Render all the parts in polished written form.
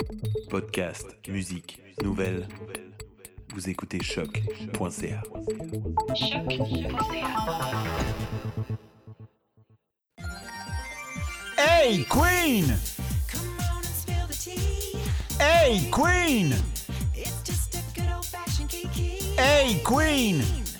Podcast, musique, nouvelles. Vous écoutez choc.ca. Hey Queen! Hey Queen! Hey Queen!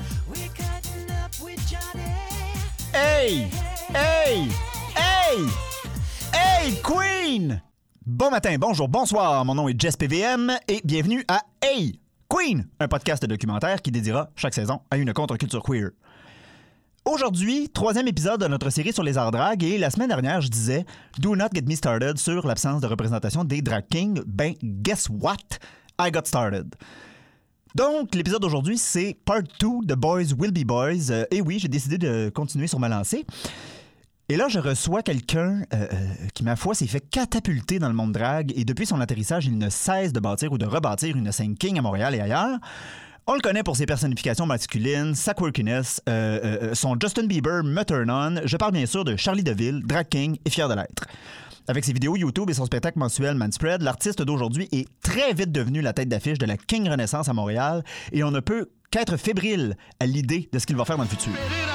Hey! Hey! Hey! Hey Queen! Bon matin, bonjour, bonsoir, mon nom est Jess PVM et bienvenue à Hey Queen, un podcast documentaire qui dédiera chaque saison à une contre-culture queer. Aujourd'hui, 3e épisode de notre série sur les arts drag et la semaine dernière, je disais « Do not get me started » sur l'absence de représentation des drag kings. Ben, guess what? I got started. Donc, l'épisode d'aujourd'hui, c'est Part 2 de Boys Will Be Boys. Et oui, j'ai décidé de continuer sur ma lancée. Et là, je reçois quelqu'un qui, ma foi, s'est fait catapulter dans le monde drag et depuis son atterrissage, il ne cesse de bâtir ou de rebâtir une scène king à Montréal et ailleurs. On le connaît pour ses personnifications masculines, sa quirkiness, son Justin Bieber me turn on. Je parle bien sûr de Charlie Deville, drag king et fier de l'être. Avec ses vidéos YouTube et son spectacle mensuel Manspread, l'artiste d'aujourd'hui est très vite devenu la tête d'affiche de la King Renaissance à Montréal et on ne peut qu'être fébrile à l'idée de ce qu'il va faire dans le futur.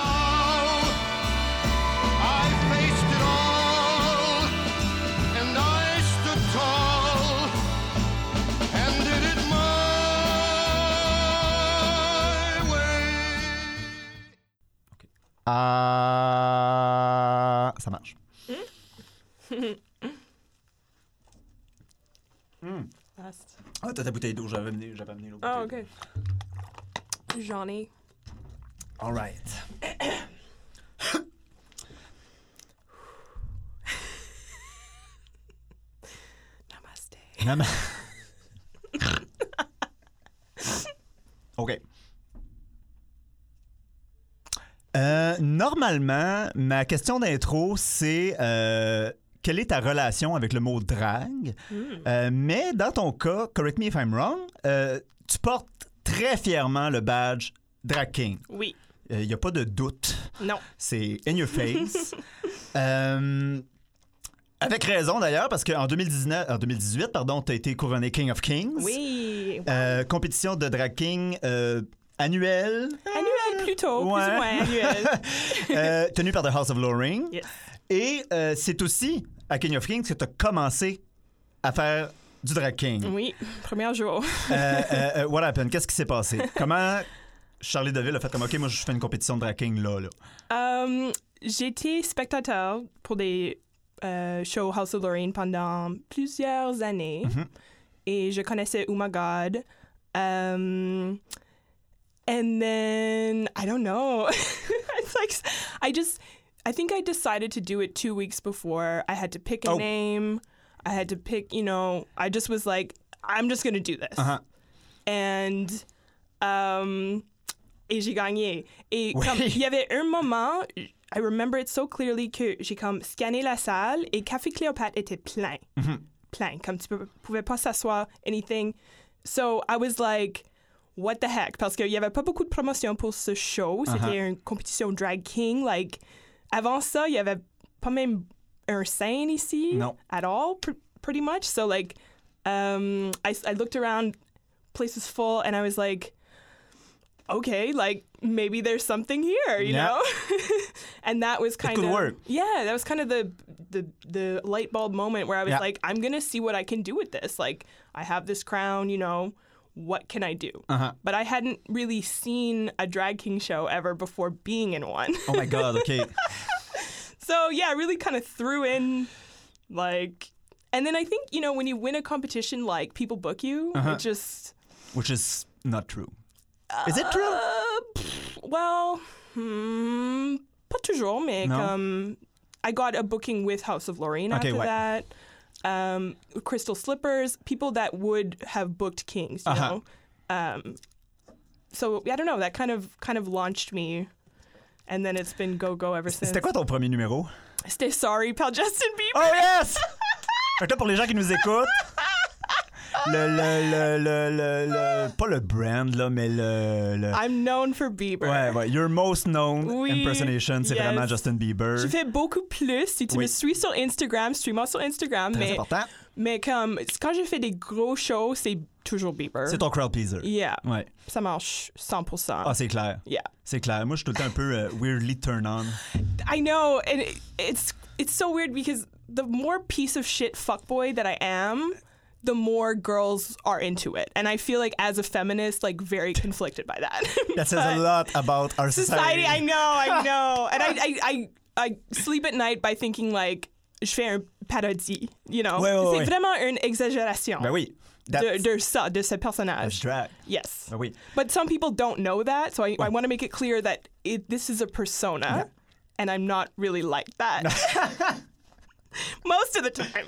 Ça marche. Ah, t'as ta bouteille d'eau, j'avais amené l'eau. Oh, OK. J'en ai. All right. Namaste. OK. Normalement, ma question d'intro, c'est quelle est ta relation avec le mot drag? Mais dans ton cas, correct me if I'm wrong, tu portes très fièrement le badge drag king. Oui. Il n'y a pas de doute. Non. C'est in your face. Avec raison d'ailleurs, parce qu'en 2018, tu as été couronné King of Kings. Oui. Compétition de drag king annuelle. Annuelle plutôt, ouais. plus ou moins annuelle. Tenue par The House of Loring. Yes. Et c'est aussi à King of Kings que tu as commencé à faire du drag king. Oui, premier jour. What happened? Qu'est-ce qui s'est passé? Comment Charlie Deville a fait comme, OK, moi, je fais une compétition de drag king là? J'ai été spectateur pour des shows House of Loring pendant plusieurs années. Mm-hmm. Et je connaissais Oh My God. And then, I don't know. It's like, I think I decided to do it 2 weeks before. I had to pick a name. I had to pick, I just was like, I'm just going to do this. Uh-huh. And, et j'ai gagné. Et oui. comme, il y avait un moment, I remember it so clearly que j'ai comme scanné la salle et Café Cléopâtre était plein. Mm-hmm. Plein. Comme tu pouvais pas s'asseoir, anything. So I was like, what the heck? Parce qu'il y avait pas beaucoup de promotion pour ce show. C'était une compétition drag king. Like, avant ça, il y avait pas même un scène ici. No. At all, pretty much. So, like, I looked around, place was full, and I was like, okay, like, maybe there's something here, you know? And that was kind of... It could work. Yeah, that was kind of the light bulb moment where I was like, I'm going to see what I can do with this. Like, I have this crown, what can I do? Uh-huh. But I hadn't really seen a drag king show ever before being in one. Oh my God, OK. So, yeah, I really kind of threw in, like... And then I think, when you win a competition, like, people book you. It just... Which is not true. Is it true? Well, pas toujours, mais no? comme... I got a booking with House of Loring after that. Crystal Slippers, people that would have booked Kings, you know. So I don't know, that kind of launched me, and then it's been go ever since. C'était quoi ton premier numéro? C'était Sorry par Justin Bieber. Oh yes! Fait que là, pour les gens qui nous écoutent, pas le brand, là, mais le... I'm known for Bieber. Ouais, your most known impersonation, c'est vraiment Justin Bieber. Je fais beaucoup plus. Si tu me suis sur Instagram, suis-moi sur Instagram. Très mais important. Mais comme, quand j'ai fait des gros shows, c'est toujours Bieber. C'est ton crowd pleaser. Yeah. Ouais. Ça marche 100%. Ah, c'est clair. Yeah. C'est clair. Moi, je suis tout le temps un peu weirdly turn on. I know, and it's so weird because the more piece of shit fuckboy that I am, the more girls are into it. And I feel like as a feminist, like very conflicted by that. That says a lot about our society. I know. And I sleep at night by thinking like, je fais un parodie, you know. Ouais. C'est vraiment une exagération. Ben oui. De ce personnage. Drag. Yes. Ben oui. But some people don't know that, so I want to make it clear that this is a persona, and I'm not really like that. Most of the time.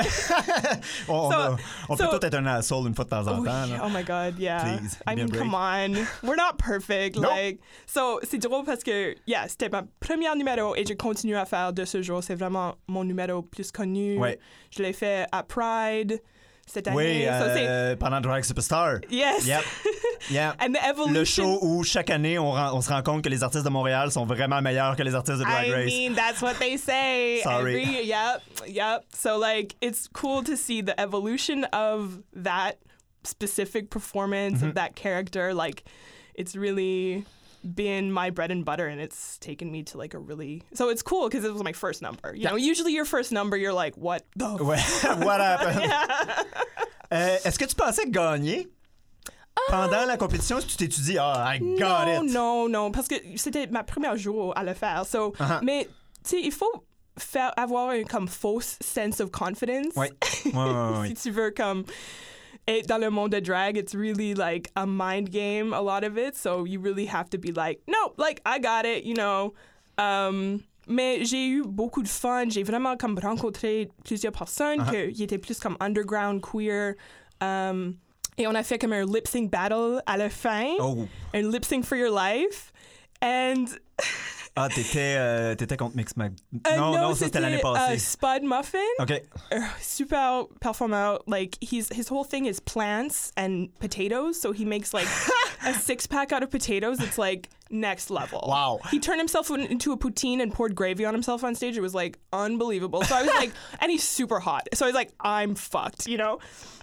on peut tout être un asshole une fois de temps en temps. Là. Oh my God, yeah. Please, I mean, come on. We're not perfect. Nope. Like, so, c'est drôle parce que, yeah, c'était ma première numéro et je continue à faire de ce jour. C'est vraiment mon numéro plus connu. Ouais. Je l'ai fait à Pride cette année. Oui, So, pendant Drag Superstar. yes. Yep. Yeah. And the evolution. Le show où chaque année on se rend compte que les artistes de Montréal sont vraiment meilleurs que les artistes de Drag Race. I mean, that's what they say. Sorry. Yep. So, like, it's cool to see the evolution of that specific performance, of that character. Like, it's really been my bread and butter, and it's taken me to, like, a really... So it's cool, because it was my first number. You know, usually your first number, you're like, what the... What happened? Est-ce que tu pensais gagner? Pendant la compétition, si tu t'es dit, I got it. Non, parce que c'était ma première jour à le faire. So, mais, tu sais, il faut avoir un comme false sense of confidence. Ouais. Si tu veux comme être dans le monde de drag, it's really like a mind game, a lot of it. So you really have to be like, no, like, I got it, you know. Mais j'ai eu beaucoup de fun. J'ai vraiment comme rencontré plusieurs personnes qui étaient plus comme underground, queer. Et on a fait comme un lip-sync battle à la fin. Oh. Un lip-sync for your life. And... t'étais contre Mix Mag... non, ça c'était l'année passée. Spud Muffin. OK. Super performant. Like, his whole thing is plants and potatoes. So he makes like a 6-pack out of potatoes. It's like next level. Wow. He turned himself into a poutine and poured gravy on himself on stage. It was like unbelievable. So I was like, and he's super hot. So I was like, I'm fucked, you know?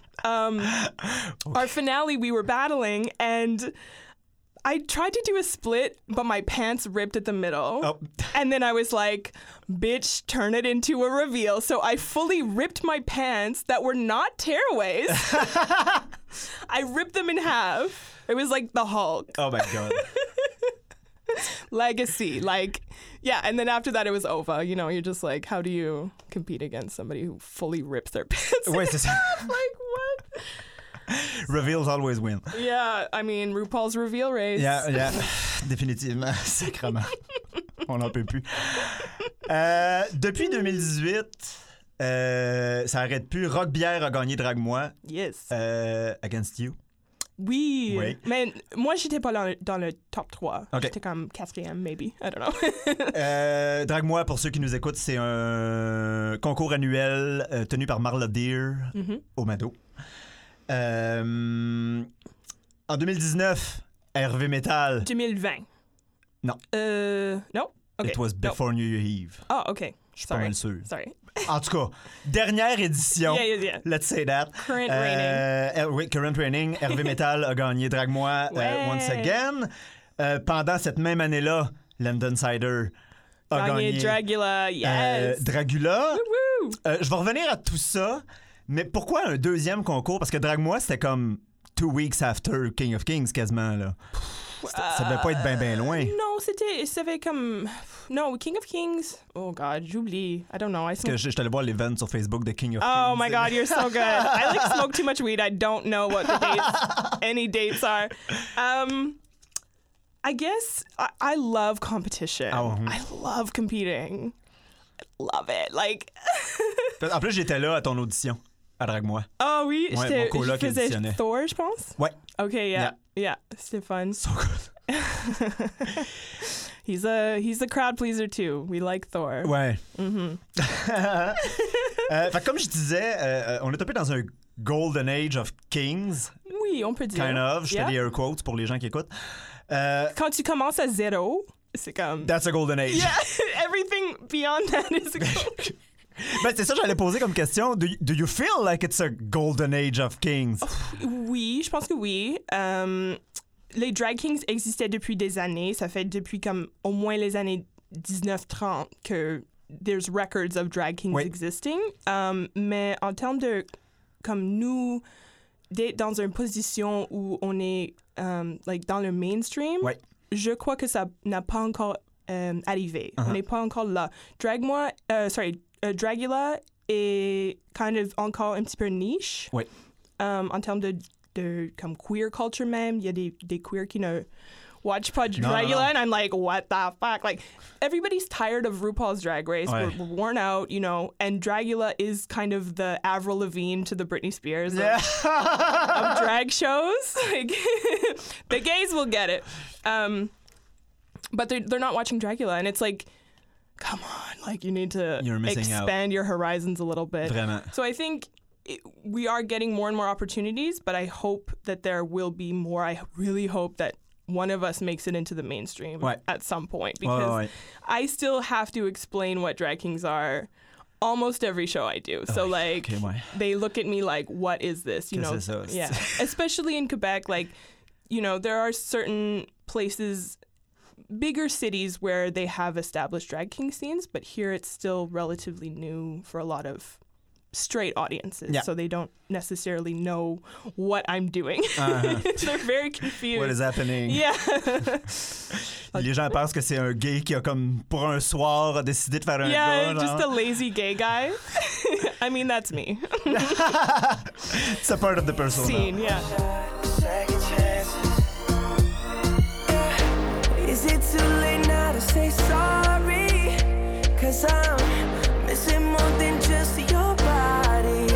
Our finale, we were battling, and I tried to do a split, but my pants ripped at the middle. Oh. And then I was like, bitch, turn it into a reveal. So I fully ripped my pants that were not tearaways. I ripped them in half. It was like the Hulk. Oh my God. Legacy. Like, yeah. And then after that, it was over. You know, you're just like, how do you compete against somebody who fully rips their pants? Ouais, c'est ça. Like, what? Reveals always win. Yeah, I mean, RuPaul's Reveal Race. Yeah. Définitivement, sacrément. On n'en peut plus. Depuis 2018, ça arrête plus. Rock Bière a gagné Drag-moi. Yes. Against You. Oui. Mais moi, j'étais pas dans le top 3. Okay. J'étais comme 4e, maybe. I don't know. Drag-moi, pour ceux qui nous écoutent, c'est un concours annuel tenu par Marla Deer au Mado. En 2019, Hervé Metal. 2020. Non. Non? Okay. It was before New Year's Eve. Oh, OK. Je suis pas mal sûr. Sorry. En tout cas, dernière édition. Yeah. Let's say that. Current reigning. Oui, current reigning. Hervé Metal a gagné Drag-moi once again. Pendant cette même année-là, London Cider a gagné Dragula, yes. Dragula. Woo-woo. Je vais revenir à tout ça, mais pourquoi un deuxième concours? Parce que Drag-moi, c'était comme 2 weeks after King of Kings, quasiment, là. Ça devait pas être bien loin. Non, c'était comme... Non, King of Kings... Oh, God, j'oublie. I don't know. Parce que je suis allé voir l'event sur Facebook de King of Kings. Oh, my God, you're so good. I, like, smoke too much weed. I don't know what the dates, any dates are. I guess I love competition. Oh. I love competing. I love it. Like... En plus, j'étais là à ton audition, à Drag-moi. Oh oui, ouais, mon coloc je faisais auditionnait. Thor, je pense. Ouais. OK, yeah. C'était fun. So good. He's a crowd pleaser too. We like Thor. Ouais. Fait comme je disais, on est un peu dans un golden age of kings. Oui, on peut dire. Kind of. Je fais des air quotes pour les gens qui écoutent. Quand tu commences à 0, c'est comme... That's a golden age. Yeah, everything beyond that is a golden Ben, c'est ça que j'allais poser comme question. Do you feel like it's a golden age of kings? Oui, je pense que oui. Les drag kings existaient depuis des années. Ça fait depuis comme au moins les années 1930 que there's records of drag kings existing. Mais en termes de comme nous d'être dans une position où on est like dans le mainstream, je crois que ça n'a pas encore arrivé. On n'est pas encore là. Dragula est kind of encore un petit peu niche. En termes de comme queer culture même, il y a des queer qui ne watch pas Dragula, and I'm like, what the fuck? Like, everybody's tired of RuPaul's Drag Race. We're worn out, you know, and Dragula is kind of the Avril Lavigne to the Britney Spears of drag shows. Like, the gays will get it. But they're not watching Dragula, and it's like, come on, like, you need to expand your horizons a little bit. Vraiment. So I think we are getting more and more opportunities, but I hope that there will be more. I really hope that one of us makes it into the mainstream at some point, because I still have to explain what drag kings are almost every show I do. So like they look at me like, what is this? You know, yeah. Especially in Quebec, like, you know, there are certain places, bigger cities where they have established drag king scenes, but here it's still relatively new for a lot of straight audiences, so they don't necessarily know what I'm doing. They're very confused. What is happening? Yeah. Les gens pensent que c'est un gay qui a comme pour un soir a décidé de faire un gars. Yeah, just a lazy gay guy. I mean, that's me. It's a part of the persona. Scene, yeah. Is it too late now to say sorry? 'Cause I'm missing more than just your body.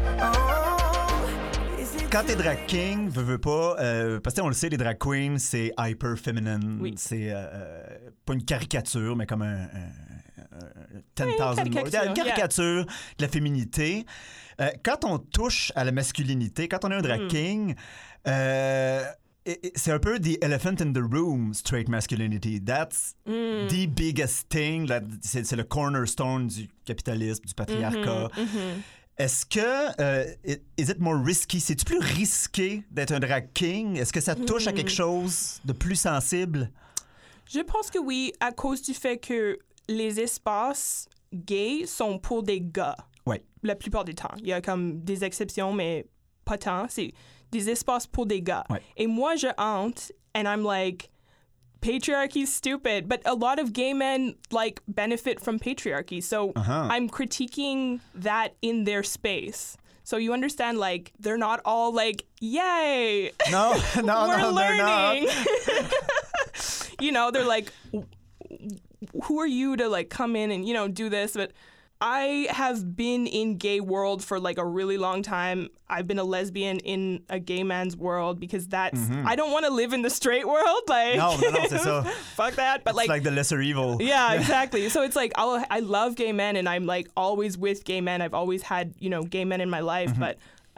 Quand t'es drag king, veux pas, parce que on le sait, les drag queens, c'est hyper feminine. Oui. C'est pas une caricature, mais comme un 10,000 une caricature de la féminité. Quand on touche à la masculinité, quand on est un drag king, c'est un peu the elephant in the room, straight masculinity. That's the biggest thing. C'est le cornerstone du capitalisme, du patriarcat. Est-ce que, is it more risky? C'est-tu plus risqué d'être un drag king? Est-ce que ça touche à quelque chose de plus sensible? Je pense que oui, à cause du fait que les espaces gays sont pour des gars. Oui. La plupart du temps. Il y a comme des exceptions, mais pas tant. C'est des espaces pour des gars. Ouais. Et moi, je hante, and I'm like, patriarchy's stupid. But a lot of gay men, like, benefit from patriarchy. So I'm critiquing that in their space. So you understand, like, they're not all like, yay! No, We're learning! They're not. You know, they're like, who are you to, like, come in and, you know, do this? But I have been in gay world for like a really long time. I've been a lesbian in a gay man's world because that's I don't want to live in the straight world. Like no, c'est ça. Fuck that. But it's like the lesser evil. Yeah, exactly. So it's like I love gay men and I'm like always with gay men. I've always had, you know, gay men in my life, but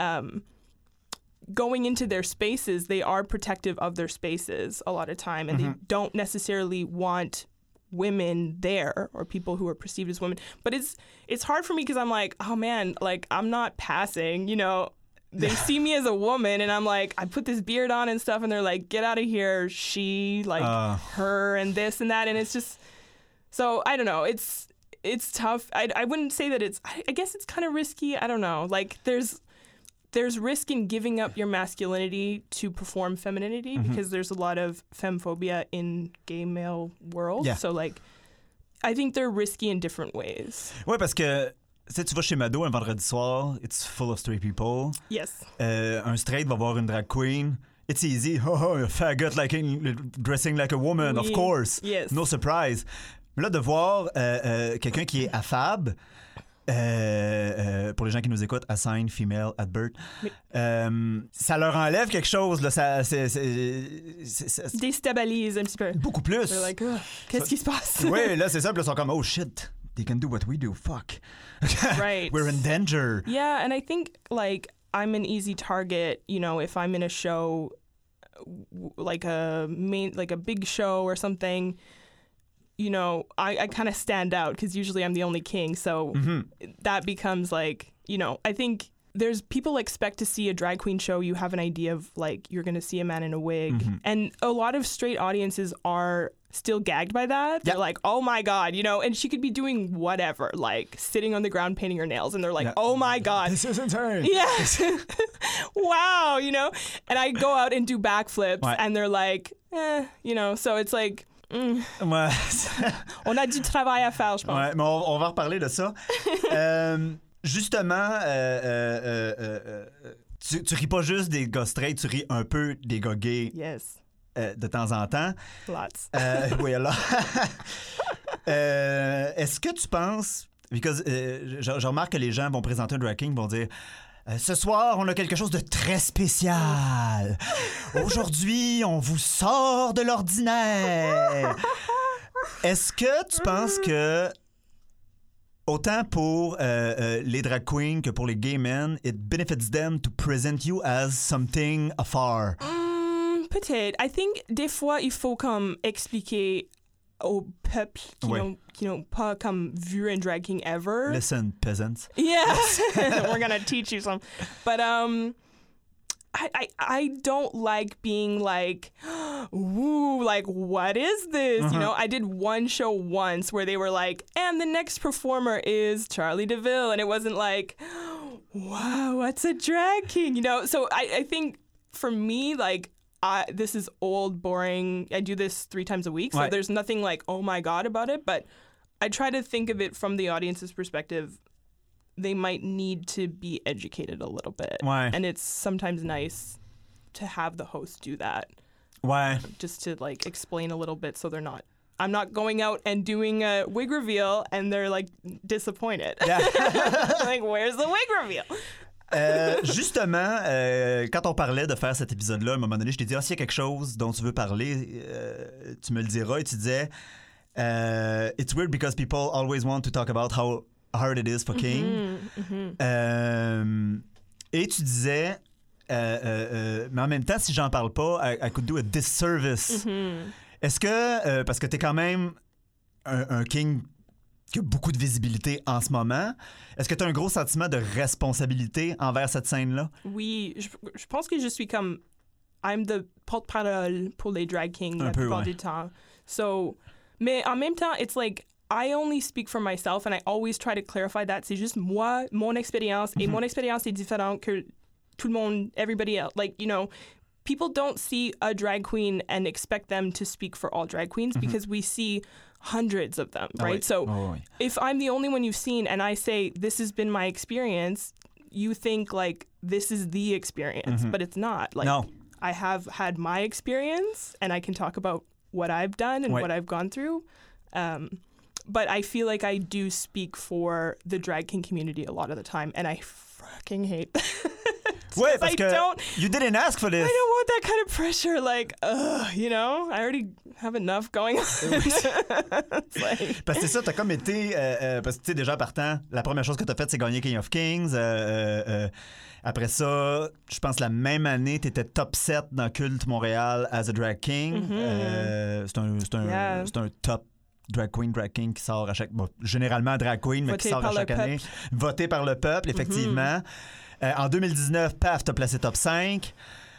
going into their spaces, they are protective of their spaces a lot of time, and they don't necessarily want women there or people who are perceived as women. But it's hard for me because I'm like, oh man, like I'm not passing, you know. They see me as a woman and I'm like, I put this beard on and stuff and they're like, get out of here, she, like her and this and that, and it's just, so I don't know, it's tough. I wouldn't say that it's, I guess it's kind of risky. I don't know, like there's risk in giving up your masculinity to perform femininity because there's a lot of femphobia in gay male world. Yeah. So like, I think they're risky in different ways. Ouais, parce que tu vas chez Mado un vendredi soir, it's full of straight people. Yes. Un straight va voir une drag queen. It's easy. Oh, a faggot dressing like a woman, of course. Yes. No surprise. Mais là, de voir quelqu'un qui est affable, pour les gens qui nous écoutent, assign female advert, ça leur enlève quelque chose là, ça déstabilise un petit peu. Beaucoup plus. They're like, qu'est-ce qui se passe? Oui, là c'est ça, puis ils sont comme oh shit, they can do what we do, fuck. Right. We're in danger. Yeah, and I think like I'm an easy target, you know, if I'm in a show like a big show or something. you know, I kind of stand out because usually I'm the only king. So that becomes like, you know, I think there's people expect to see a drag queen show. You have an idea of like, you're going to see a man in a wig. And a lot of straight audiences are still gagged by that. They're like, oh my God, you know, and she could be doing whatever, like sitting on the ground painting her nails. And they're like, oh my God. This isn't her. Yes. Wow, you know, and I go out and do backflips and they're like, you know, so it's like, Ouais. on a du travail à faire, je pense. Ouais, mais on va reparler de ça. Justement, tu ris pas juste des gars straight, tu ris un peu des gars gays Yes. De temps en temps. Lots. Oui, alors. Est-ce que tu penses... Because je remarque que les gens vont présenter un drag king, vont dire... ce soir, on a quelque chose de très spécial. Aujourd'hui, on vous sort de l'ordinaire. Est-ce que tu penses que, autant pour les drag queens que pour les gay men, it benefits them to present you as something afar? Peut-être. I think des fois, il faut comme expliquer au peuple qui n'ont pas comme vu un drag king ever. Listen, peasants. Yes, we're gonna teach you some. But I don't like being like, woo, like what is this? You know, I did one show once where they were like, and the next performer is Charlie DeVille, and it wasn't like, wow, what's a drag king? You know, so I think for me, like, this is old, boring. I do this 3 times a week, so there's nothing like, oh my God about it. But I try to think of it from the audience's perspective. They might need to be educated a little bit. Ouais. And it's sometimes nice to have the host do that. Ouais. Just to like explain a little bit so they're not... I'm not going out and doing a wig reveal and they're like disappointed. Yeah. Like, where's the wig reveal? Justement, quand on parlait de faire cet épisode-là, à un moment donné, je t'ai dit, s'il y a quelque chose dont tu veux parler, tu me le diras. Et tu disais, it's weird because people always want to talk about how hard it is for King. Et tu disais, mais en même temps, si j'en parle pas, I could do a disservice. Est-ce que, parce que t'es quand même un King qui a beaucoup de visibilité en ce moment. Est-ce que tu as un gros sentiment de responsabilité envers cette scène-là? Oui, je pense que je suis comme... I'm the porte-parole pour les drag kings la plupart du temps. So, mais en même temps, it's like, I only speak for myself and I always try to clarify that. C'est juste moi, mon expérience, et mon expérience est différente que tout le monde, everybody else. Like, you know, people don't see a drag queen and expect them to speak for all drag queens because we see hundreds of them, right? So if I'm the only one you've seen and I say, this has been my experience, you think like this is the experience, but it's not. Like, I have had my experience and I can talk about what I've done and what I've gone through. But I feel like I do speak for the drag king community a lot of the time and I fucking hate that. Ouais, parce que you didn't ask for this. I don't want that kind of pressure. Like, you know, I already have enough going on. Parce que c'est ça, t'as comme été... parce que, tu sais, déjà partant, la première chose que t'as faite, c'est gagner King of Kings. Après ça, je pense la même année, t'étais top 7 dans Culte Montréal as a drag king. C'est un top drag queen, drag king qui sort à chaque... Bon, généralement drag queen, mais qui sort à chaque année. Voté par le peuple, effectivement. En 2019, paf, t'as placé top 5.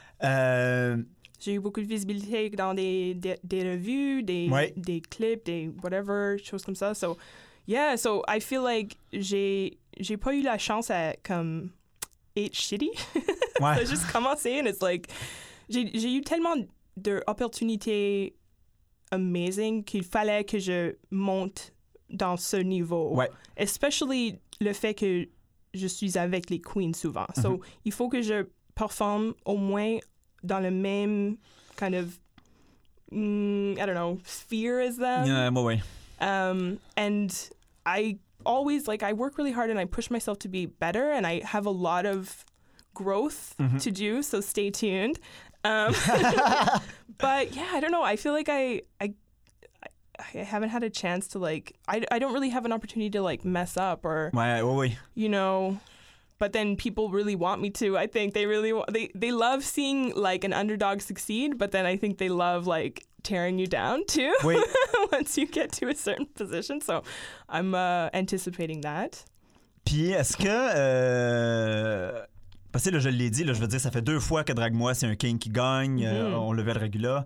J'ai eu beaucoup de visibilité dans des revues, des clips, des whatever, choses comme ça. So, yeah, so I feel like j'ai pas eu la chance à comme être shitty. Ça a juste commencé and it's like j'ai eu tellement d'opportunités amazing qu'il fallait que je monte dans ce niveau. Ouais. Especially le fait que je suis avec les queens souvent. So, il faut que je performe au moins dans le même kind of, I don't know, sphere as them. Yeah, ouais. And I always, like, I work really hard and I push myself to be better and I have a lot of growth to do, so stay tuned. But yeah, I don't know. I feel like I haven't had a chance to, like, I don't really have an opportunity to, like, mess up or, you know. but then people really want me to. I think they love seeing like an underdog succeed, but then I think they love like tearing you down too. Oui. Once you get to a certain position. So I'm anticipating that. Puis est-ce que parce que là, je l'ai dit, là, je veux dire, ça fait 2 fois que Drag-moi, c'est un king qui gagne. On le verra Dragula.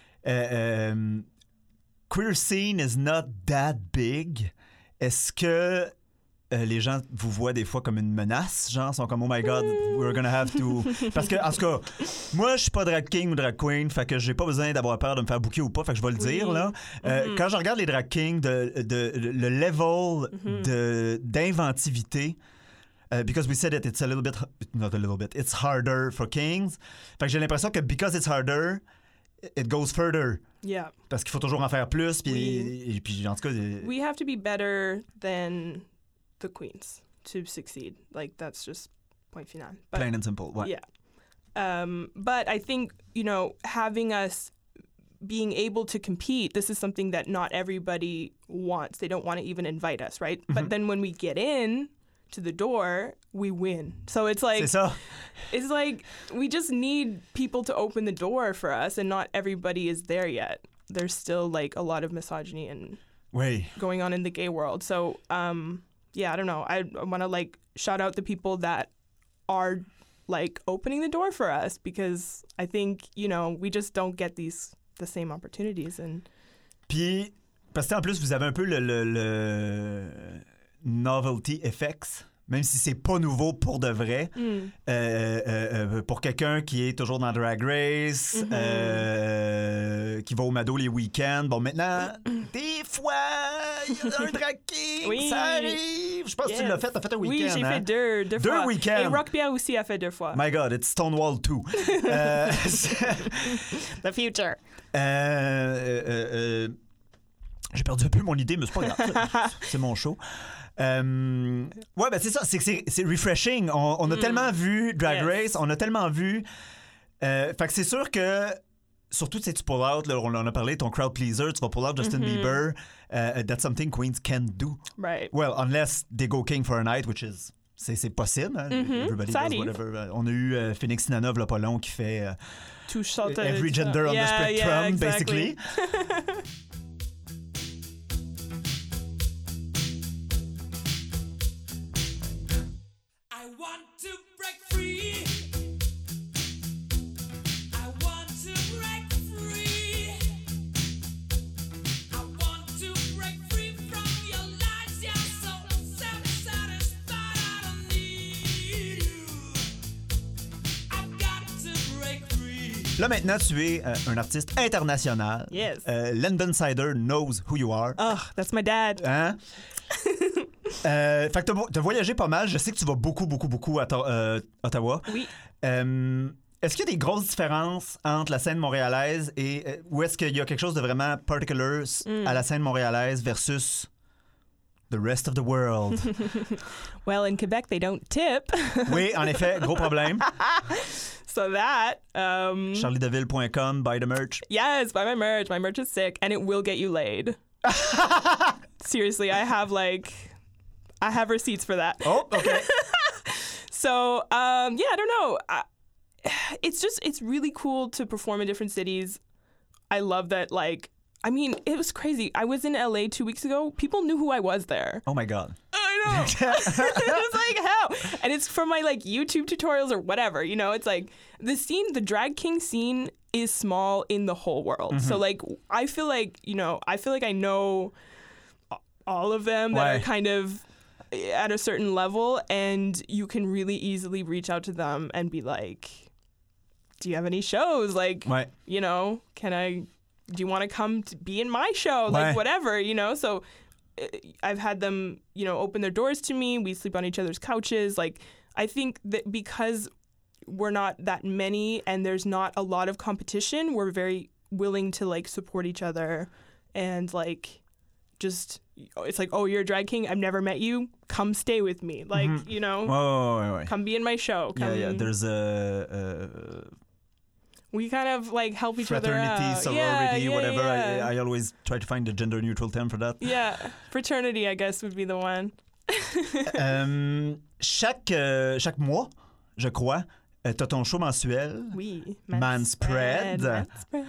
Queer scene is not that big. Est-ce que les gens vous voient des fois comme une menace? Genre, sont comme, oh my God, we're gonna have to... Parce que, en tout cas, moi, je suis pas drag king ou drag queen, fait que j'ai pas besoin d'avoir peur de me faire booker ou pas, fait que je vais le dire, là. Quand je regarde les drag kings, le level d'inventivité... because we said it, it's a little bit, not a little bit, it's harder for kings. Fait que j'ai l'impression que because it's harder, it goes further. Yeah. Parce qu'il faut toujours en faire plus, puis, puis en tout cas... We have to be better than the queens to succeed. Like, that's just point final. But, plain and simple, ouais. Yeah. But I think, you know, having us being able to compete, this is something that not everybody wants. They don't want to even invite us, right? But then when we get in... to the door, we win. So it's like, c'est ça. It's like we just need people to open the door for us, and not everybody is there yet. There's still like a lot of misogyny and going on in the gay world. So yeah, I don't know. I want to like shout out the people that are like opening the door for us, because I think, you know, we just don't get the same opportunities. And puis parce que en plus vous avez un peu le novelty effects, même si c'est pas nouveau pour de vrai. Pour quelqu'un qui est toujours dans Drag Race, qui va au Mado les week-ends, bon, maintenant, des fois, il y a un drag king, ça arrive. Je pense que tu l'as fait, t'as fait un week-end. Oui, j'ai fait deux fois. 2 week-ends. Et Rock Pierre aussi a fait 2 fois. My God, it's Stonewall 2. The future. J'ai perdu un peu mon idée, mais c'est pas grave. C'est mon show. Ouais, ben c'est ça, c'est refreshing. On a tellement vu Drag Race, on a tellement vu. Fait que c'est sûr que, surtout, tu pull out, là, on en a parlé, ton crowd pleaser, tu vas pull out Justin Bieber. That's something queens can do. Right. Well, unless they go king for a night, which is. C'est possible. Hein? Everybody does whatever. On a eu Phoenix Sinanov, là, pas long, qui fait every gender on the spectrum, exactly. Basically. Là, maintenant, tu es un artiste international. Yes. London Cider knows who you are. Oh, that's my dad. Hein? Fait que t'as voyagé pas mal. Je sais que tu vas beaucoup à Ottawa. Oui. Est-ce qu'il y a des grosses différences entre la scène montréalaise et... ou est-ce qu'il y a quelque chose de vraiment particular à la scène montréalaise versus... the rest of the world? Well, in Quebec, they don't tip. Oui, en effet, gros problème. So that... CharlieDeville.com, buy the merch. Yes, buy my merch. My merch is sick, and it will get you laid. Seriously, I have receipts for that. Oh, okay. So, yeah, I don't know. It's really cool to perform in different cities. I love that, like, I mean, it was crazy. I was in LA 2 weeks ago. People knew who I was there. Oh my God. I know. It was like, how? And it's from my like YouTube tutorials or whatever, you know? It's like the drag king scene is small in the whole world. So like, I feel like I know all of them that are kind of at a certain level, and you can really easily reach out to them and be like, do you have any shows? Like, you know, do you want to come to be in my show? Like, whatever, you know? So I've had them, you know, open their doors to me. We sleep on each other's couches. Like, I think that because we're not that many and there's not a lot of competition, we're very willing to, like, support each other and, like, just, it's like, oh, you're a drag king? I've never met you. Come stay with me. Like, you know, come be in my show. Yeah. There's a we kind of like help each other out. Fraternity, sorority, whatever. Yeah. I always try to find a gender neutral term for that. Yeah, fraternity, I guess, would be the one. Chaque mois, je crois, t'as ton show mensuel. Oui. Manspread.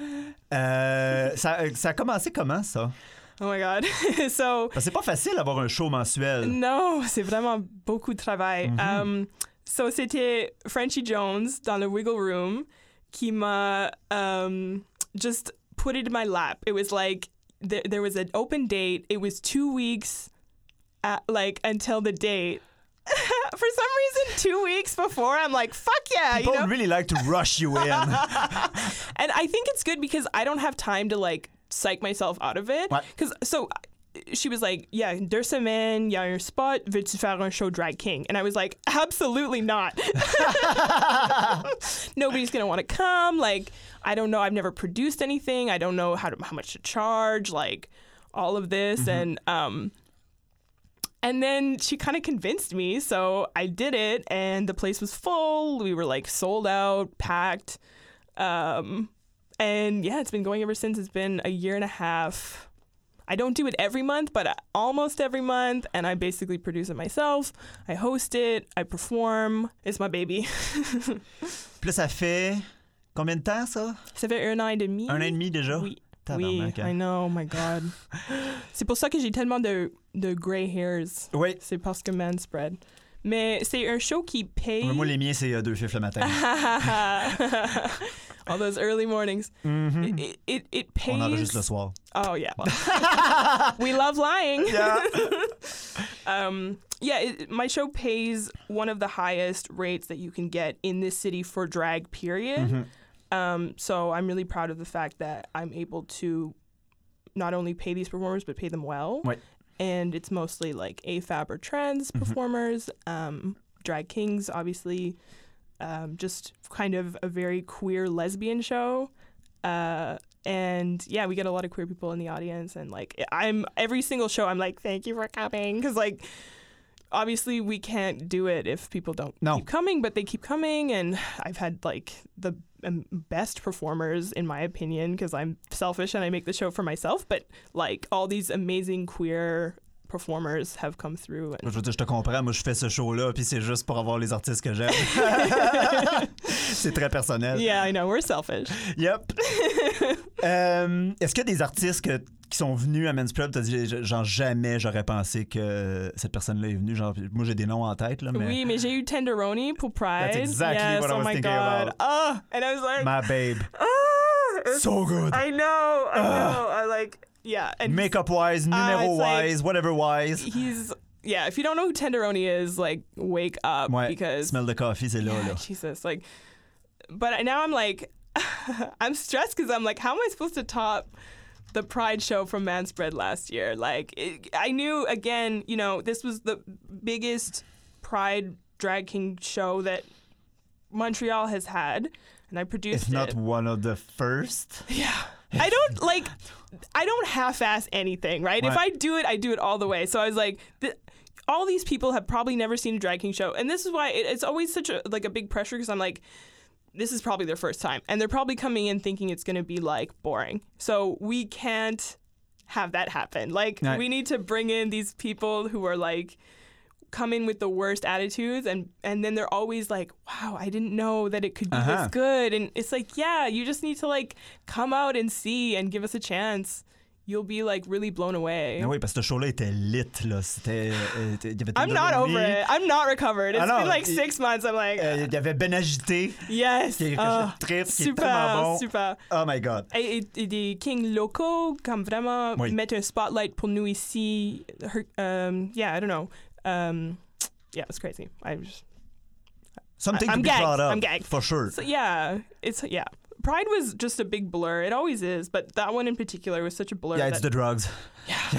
Ça a commencé comment, ça? Oh my God. So, Parce que c'est pas facile d'avoir un show mensuel. non, c'est vraiment beaucoup de travail. So, c'était Frenchie Jones dans le Wiggle Room qui m'a just put it in my lap. It was like there was an open date. It was 2 weeks until the date. For some reason, 2 weeks before, I'm like, fuck yeah. People you know? really like to rush you in. And I think it's good because I don't have time to like psych myself out of it. Ouais. So she was like, yeah, 2 semaines, il y a un spot, veux-tu faire un show Drag King? And I was like, absolutely not. Nobody's going to want to come. Like, I don't know. I've never produced anything. I don't know how much to charge, like all of this. And then she kind of convinced me. So I did it and the place was full. We were like sold out, packed. And yeah, it's been going ever since. It's been a year and a half. I don't do it every month, but almost every month. And I basically produce it myself. I host it. I perform. It's my baby. Puis là, ça fait combien de temps, ça? Ça fait 1 an et demi. 1 an et demi déjà? Oui. Tabarnak, hein? I know. Oh my God. C'est pour ça que j'ai tellement de gray hairs. Oui. C'est parce que Manspread. Mais c'est un show qui paye. Moi, les miens, c'est 2 fifs le matin. All those early mornings. It pays. On enregistre le soir. Oh, yeah. Well. We love lying. Yeah. My show pays one of the highest rates that you can get in this city for drag, period. So I'm really proud of the fact that I'm able to not only pay these performers, but pay them well. Ouais. And it's mostly like AFAB or trans performers, drag kings, obviously, just kind of a very queer lesbian show. And yeah, we get a lot of queer people in the audience. And like, every single show, I'm like, thank you for coming. Because like, obviously we can't do it if people don't keep coming, but they keep coming. And I've had like the best performers, in my opinion, because I'm selfish and I make the show for myself, but like all these amazing queer performers have come through. And... Je veux dire, je te comprends. Moi, je fais ce show-là, puis c'est juste pour avoir les artistes que j'aime. C'est très personnel. Yeah, I know. We're selfish. Yep. Est-ce qu'il y a des artistes qui sont venus à Manspread, t'as dit, genre, jamais j'aurais pensé que cette personne-là est venue. Genre, moi, j'ai des noms en tête, là, mais... Oui, mais j'ai eu Tenderoni pour Pride. That's exactly what I was thinking about. Oh, and I was like... My babe. So good. I know. I like... Yeah. And makeup-wise, numéro-wise, like, whatever-wise. Yeah, if you don't know who Tenderoni is, like, wake up. Ouais, because... smell the coffee, c'est là, yeah, là. Jesus, like... But now I'm like... I'm stressed because I'm like, how am I supposed to top the Pride show from Manspread last year? Like, I knew, again, you know, this was the biggest Pride Drag King show that Montreal has had, and I produced it. If not one of the first. Yeah. I don't half-ass anything, right? Ouais. If I do it all the way. So I was like, all these people have probably never seen a drag king show. And this is why it's always such a big pressure, because I'm like, this is probably their first time. And they're probably coming in thinking it's going to be like boring. So we can't have that happen. Like, right. We need to bring in these people who are like, come in with the worst attitudes, and then they're always like, wow, I didn't know that it could be this good. And it's like, yeah, you just need to like come out and see and give us a chance. You'll be like really blown away. Mais oui, parce que ce show-là était lit, là. C'était. I'm not over it. I'm not recovered. It's been like 6 months. I'm like. Il y avait Ben Agité. Yes. Qui est tellement bon. Super. Oh my God. Et des kings locaux, comme vraiment mettre un spotlight pour nous ici. Yeah, I don't know. Yeah, it's crazy. Something I'm to be gagged. brought up. I'm gagged. For sure. So, yeah. Pride was just a big blur. It always is, but that one in particular was such a blur. Yeah, it's the drugs. Yeah.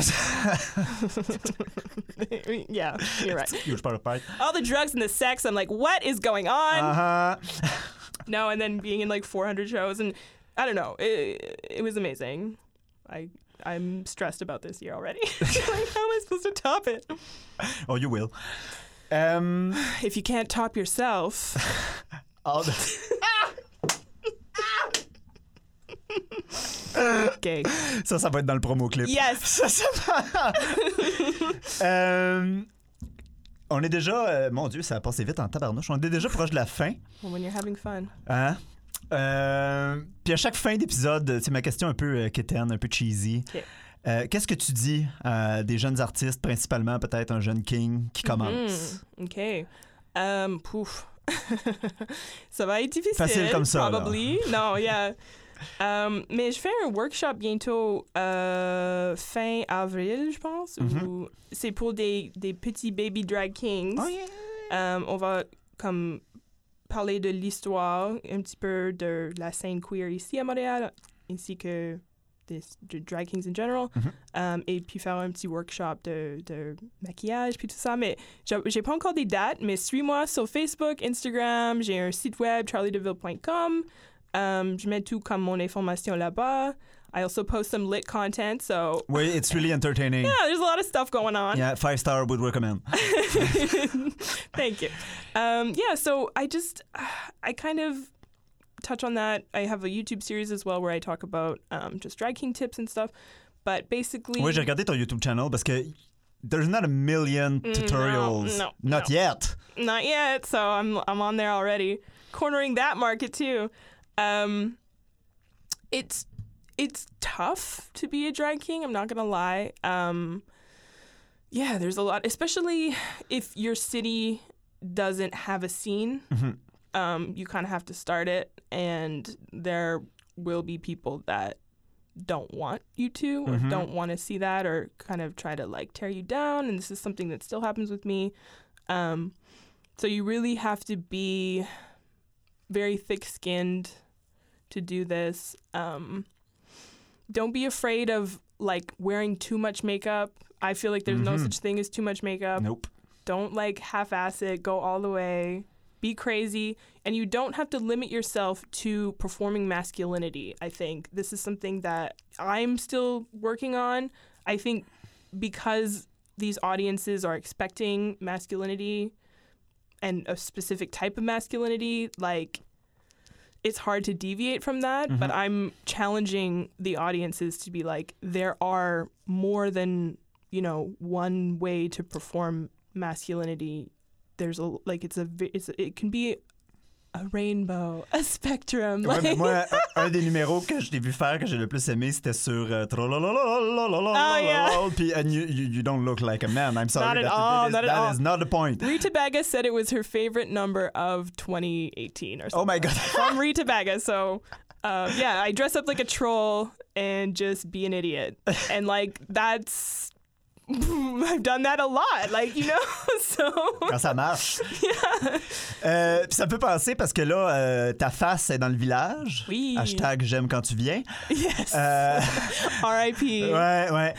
Yeah, you're right. Huge part of Pride. All the drugs and the sex, I'm like, what is going on? No, and then being in like 400 shows, and I don't know. It was amazing. I'm stressed about this year already. Like, how am I supposed to top it? Oh, you will. If you can't top yourself. Gay. Ça va être dans le promo clip. Yes. On est déjà... mon Dieu, ça a passé vite en tabarnouche. On est déjà proche de la fin. Well, when you're having fun. Hein? Puis à chaque fin d'épisode, c'est ma question un peu quétaine, un peu cheesy. Okay. Qu'est-ce que tu dis à des jeunes artistes, principalement peut-être un jeune king qui commence? OK. Pouf. Ça va être difficile. Facile comme ça. Probably. Non, yeah. Mais je fais un workshop bientôt fin avril, je pense. Où c'est pour des petits baby drag kings. Oh yeah. On va comme parler de l'histoire, un petit peu de la scène queer ici à Montréal, ainsi que de drag kings in general, et puis faire un petit workshop de maquillage puis tout ça. Mais j'ai pas encore des dates, mais suis-moi sur Facebook, Instagram, j'ai un site web, charliedeville.com. Je mets tout comme mon information là-bas. I also post some lit content, so... Oui, it's really entertaining. Yeah, there's a lot of stuff going on. Yeah, 5-star would recommend. Thank you. Yeah, so I kind of touch on that. I have a YouTube series as well where I talk about just drag king tips and stuff. But basically... Oui, j'ai regardé ton YouTube channel parce que there's not a million tutorials. No, Not yet. Not yet, so I'm on there already. Cornering that market too. It's tough to be a drag king, I'm not gonna lie. Yeah, there's a lot, especially if your city doesn't have a scene. You kind of have to start it, and there will be people that don't want you to or don't want to see that or kind of try to like tear you down, and this is something that still happens with me. So you really have to be very thick-skinned to do this. Don't be afraid of like wearing too much makeup. I feel like there's no such thing as too much makeup. Nope. Don't like half-ass it, go all the way. Be crazy, and you don't have to limit yourself to performing masculinity. I think this is something that I'm still working on. I think because these audiences are expecting masculinity and a specific type of masculinity, like it's hard to deviate from that, but I'm challenging the audiences to be like, there are more than, one way to perform masculinity. There's it can be a rainbow, a spectrum. Ouais, mais moi, un des numéros que je t'ai vu faire, que j'ai le plus aimé, c'était sur puis and you don't look like a man. I'm sorry. Not at all. That is not the point. Rita Baga said it was her favorite number of 2018 or something. Oh my God. From Rita Baga. So, yeah, I dress up like a troll and just be an idiot. And, like, that's... I've done that a lot, so... Quand ça marche. Yeah. Puis ça me peut penser parce que là, ta face est dans le village. Oui. Hashtag j'aime quand tu viens. Yes. R.I.P. Ouais.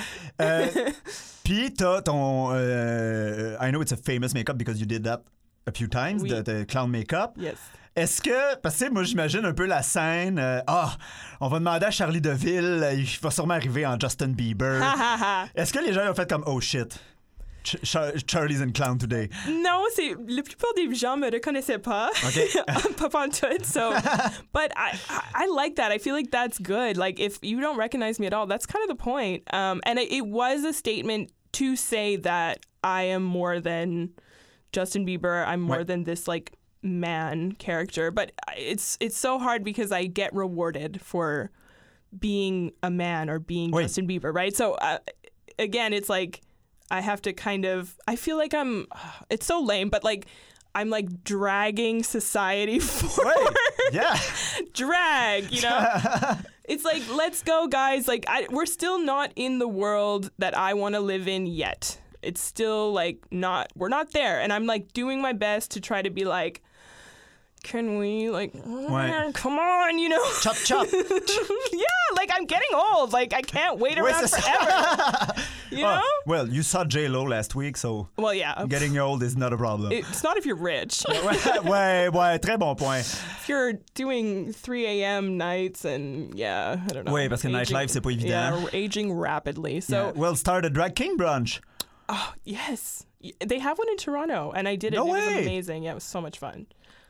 Puis t'as ton... I know it's a famous makeup because you did that a few times, Oui. the clown makeup. Yes. Est-ce que, parce que moi j'imagine un peu la scène, on va demander à Charlie Deville, il va sûrement arriver en Justin Bieber. Est-ce que les gens ont fait comme, oh shit, Charlie's in clown today? Non, la plupart des gens me reconnaissaient pas. Okay. Pas pantoute, so. But I like that. I feel like that's good. Like, if you don't recognize me at all, that's kind of the point. And it was a statement to say that I am more than Justin Bieber. I'm more than this, like, man character, but it's so hard because I get rewarded for being a man or being Justin Bieber, right? So again, it's like I have to kind of, I feel like it's so lame, but like I'm like dragging society forward. Yeah. Drag, It's like, let's go, guys. Like we're still not in the world that I want to live in yet. It's still like we're not there. And I'm like doing my best to try to be like, can we come on, Chop, chop. Yeah, like I'm getting old. Like I can't wait around forever. You know? Well, you saw J-Lo last week, so well, yeah. Getting old is not a problem. It's not if you're rich. ouais, très bon point. If you're doing 3 a.m. nights and I don't know. Oui, parce que nightlife, c'est pas évident. Yeah, we're aging rapidly. So yeah. Well, start a drag king brunch. Oh, yes. They have one in Toronto, and I did it. No it way. was amazing. Yeah, it was so much fun.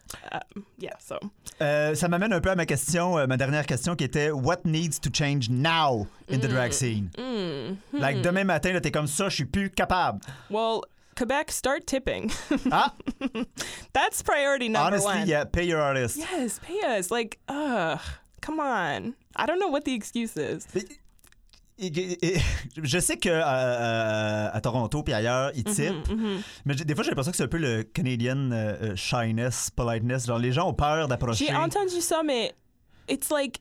So. Ça m'amène un peu à ma dernière question qui était what needs to change now in the drag scene? Like demain matin, là, t'es comme ça, je suis plus capable. Well, Quebec, start tipping. Ah! That's priority number Honestly, one. yeah, pay your artist. Yes, pay us. Like, come on. I don't know what the excuse is. Je sais que à Toronto puis ailleurs, ils tippent, mais des fois, j'ai l'impression que c'est un peu le Canadian shyness, politeness. Genre, les gens ont peur d'approcher. J'ai entendu ça, mais it's like,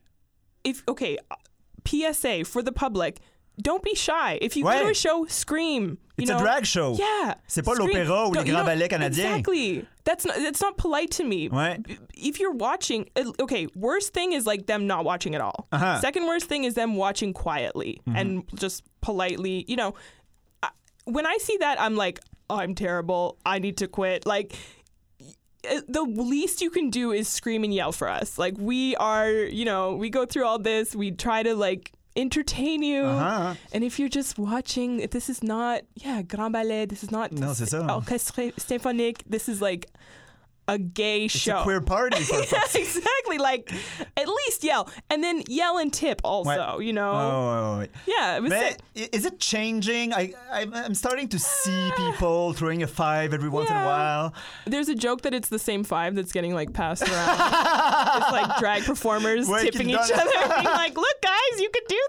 PSA for the public. Don't be shy. If you go to a show, scream. It's a drag show. Yeah. C'est pas Scream. l'opéra ou les grands ballets canadiens. Exactly. It's not polite to me. Ouais. If you're watching, worst thing is like them not watching at all. Uh-huh. Second worst thing is them watching quietly and just politely. When I see that, I'm like, I'm terrible. I need to quit. Like, the least you can do is scream and yell for us. Like, we are, we go through all this. We try to, like, entertain you. Uh-huh. And if you're just watching, this is not, Grand Ballet. This is not Non, c'est ça. Orchestre Symphonique. This is, like, a gay show. It's a queer party. For Exactly. Like, at least yell. And then yell and tip also, ouais. Ouais. Yeah. It was Mais is it changing? I'm starting to see people throwing a 5 every once in a while. There's a joke that it's the same 5 that's getting, like, passed around. It's, like, drag performers tipping each other. Being like, look, guys, you could do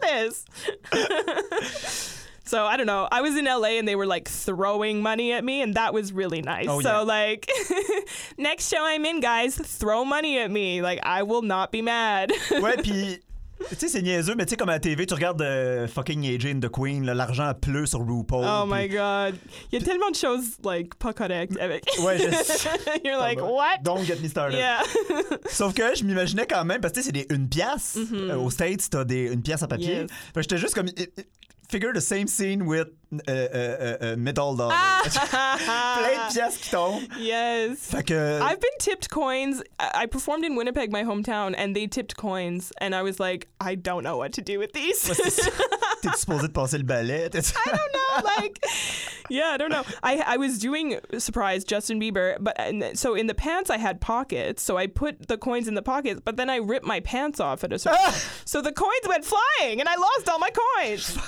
this. So, I don't know. I was in LA and they were, like, throwing money at me, and that was really nice. Oh, so, yeah. like, next show I'm in, guys, throw money at me. Like, I will not be mad. Ouais, puis tu sais, c'est niaiseux, mais tu sais, comme à la TV, tu regardes fucking AJ and the Queen, là, l'argent pleut sur RuPaul. Oh pis... my God. Il y a tellement de choses, like, pas correctes avec. Ouais, You're like, what? Don't get me started. Yeah. Sauf que je m'imaginais quand même, parce que tu sais, c'est des 1 pièce. Aux States, t'as des 1 pièce à papier. Yes. Fait que j'étais juste comme... Figure the same scene with middle dollar. Plein de pièces qui tombent. Yes. Fait que... I've been tipped coins. I performed in Winnipeg, my hometown, and they tipped coins. And I was like, I don't know what to do with these. T'es supposé de passer le balai? I don't know. Like, yeah, I don't know. I was doing surprise Justin Bieber, so in the pants I had pockets, so I put the coins in the pockets, but then I ripped my pants off at a certain so the coins went flying, and I lost all my coins.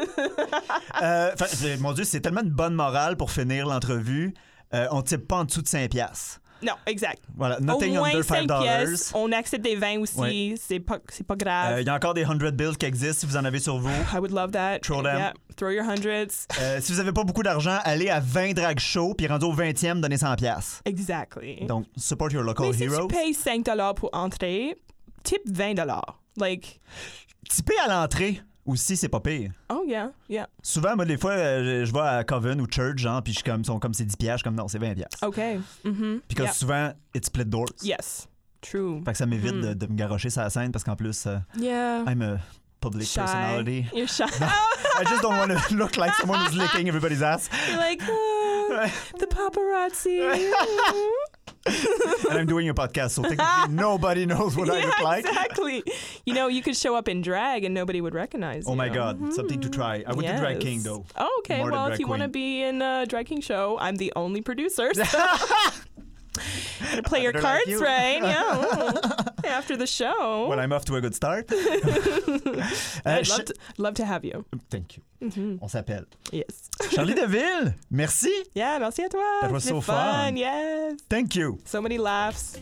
Mon Dieu, c'est tellement une bonne morale pour finir l'entrevue. On type pas en dessous de 5 piastres. Non, exact. Voilà, Au nothing moins under 5 $5. pièces. On accepte des 20 aussi. Ouais. C'est pas grave. Il y a encore des 100 bills qui existent si vous en avez sur vous. I would love that. Throw them. Yeah, throw your hundreds. Si vous avez pas beaucoup d'argent, allez à 20 drag shows, puis rendu au 20e, donnez 100 piastres. Exactly. Donc, support your local Mais heroes. si tu payes $5 pour entrer, tip $20. Like, Tipper à l'entrée aussi, c'est pas pire. oh yeah. Souvent, moi, des fois, je vais à Coven ou Church, genre, puis je suis comme, sont comme c'est 10 piastres, je suis comme non, c'est 20 piastres. Okay. Mm-hmm. Puis que souvent, it's split doors. Yes. True. Fait que ça m'évite de me garrocher sur la scène parce qu'en plus, Yeah. I'm a public Shy. personality. You're shy. I just don't want to look like someone who's licking everybody's ass. You're like, the paparazzi. And I'm doing a podcast, so technically nobody knows what I look like. Exactly. You could show up in drag and nobody would recognize you. Oh my God, something to try. I would do Drag King, though. Oh, okay. More than Well, Drag if you want to Queen. be in a Drag King show, I'm the only producer. So. Gotta play your better cards like you. right. Yeah. After the show. Well, I'm off to a good start. I'd love to have you. Thank you. Mm-hmm. On s'appelle. Yes. Charlie Deville, merci. Yeah, merci à toi. That was C'était so fun. Yes. Thank you. So many laughs.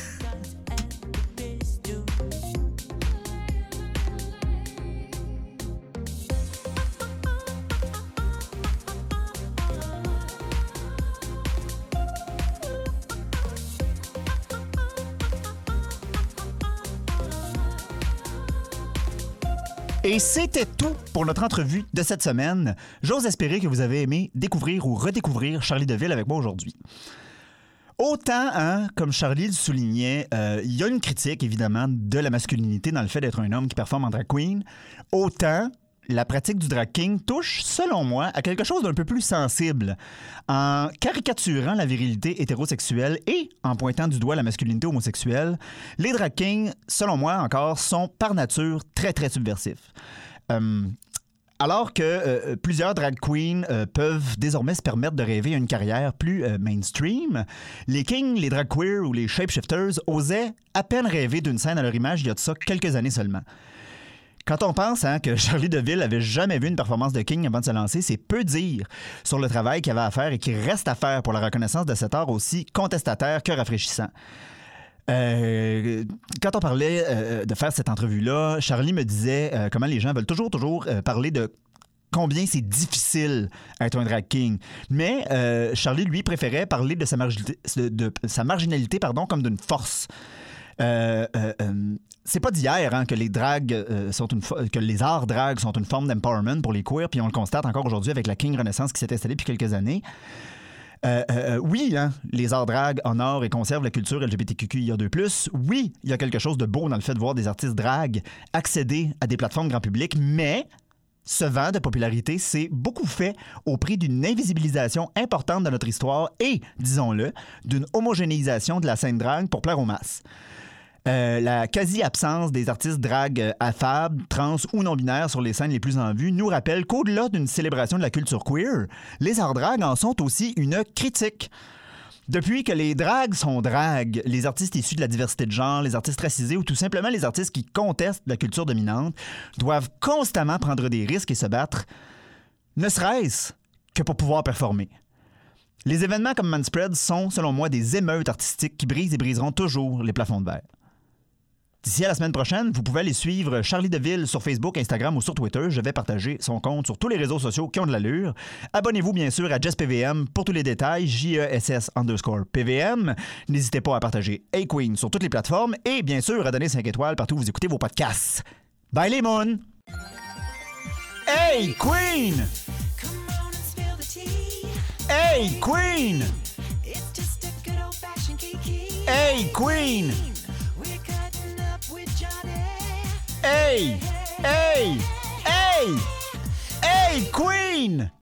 Et c'était tout pour notre entrevue de cette semaine. J'ose espérer que vous avez aimé découvrir ou redécouvrir Charlie Deville avec moi aujourd'hui. Autant, comme Charlie le soulignait, il y a une critique, évidemment, de la masculinité dans le fait d'être un homme qui performe en drag queen. Autant, la pratique du drag king touche, selon moi, à quelque chose d'un peu plus sensible, en caricaturant la virilité hétérosexuelle et en pointant du doigt la masculinité homosexuelle. Les drag kings, selon moi, encore, sont par nature très, très subversifs. Alors que plusieurs drag queens peuvent désormais se permettre de rêver à une carrière plus mainstream, les kings, les drag queers ou les shapeshifters osaient à peine rêver d'une scène à leur image il y a de ça quelques années seulement. Quand on pense que Charlie DeVille avait jamais vu une performance de King avant de se lancer, c'est peu dire sur le travail qu'il avait à faire et qu'il reste à faire pour la reconnaissance de cet art aussi contestataire que rafraîchissant. Quand on parlait de faire cette entrevue-là, Charlie me disait comment les gens veulent toujours parler de combien c'est difficile être un drag king. Mais Charlie, lui, préférait parler de sa marginalité comme d'une force. C'est pas d'hier que les drags que les arts drag sont une forme d'empowerment pour les queers, puis on le constate encore aujourd'hui avec la King Renaissance qui s'est installée depuis quelques années. Oui, les arts drag honorent et conservent la culture LGBTQIA2+. Oui, il y a quelque chose de beau dans le fait de voir des artistes drag accéder à des plateformes grand public, mais ce vent de popularité s'est beaucoup fait au prix d'une invisibilisation importante de notre histoire et, disons-le, d'une homogénéisation de la scène drag pour plaire aux masses. La quasi-absence des artistes drag affables, trans ou non-binaires sur les scènes les plus en vue nous rappelle qu'au-delà d'une célébration de la culture queer, les arts drag en sont aussi une critique. Depuis que les drags sont drags, les artistes issus de la diversité de genre, les artistes racisés ou tout simplement les artistes qui contestent la culture dominante doivent constamment prendre des risques et se battre, ne serait-ce que pour pouvoir performer. Les événements comme Manspread sont, selon moi, des émeutes artistiques qui brisent et briseront toujours les plafonds de verre. D'ici à la semaine prochaine, vous pouvez aller suivre Charlie DeVille sur Facebook, Instagram ou sur Twitter. Je vais partager son compte sur tous les réseaux sociaux qui ont de l'allure. Abonnez-vous bien sûr à JessPVM pour tous les détails, JESS_PVM. N'hésitez pas à partager Hey Queen sur toutes les plateformes et bien sûr à donner 5 étoiles partout où vous écoutez vos podcasts. Bye les moons! Hey Queen! Hey Queen! Hey Queen! Hey! Hey! Hey! Hey, Queen!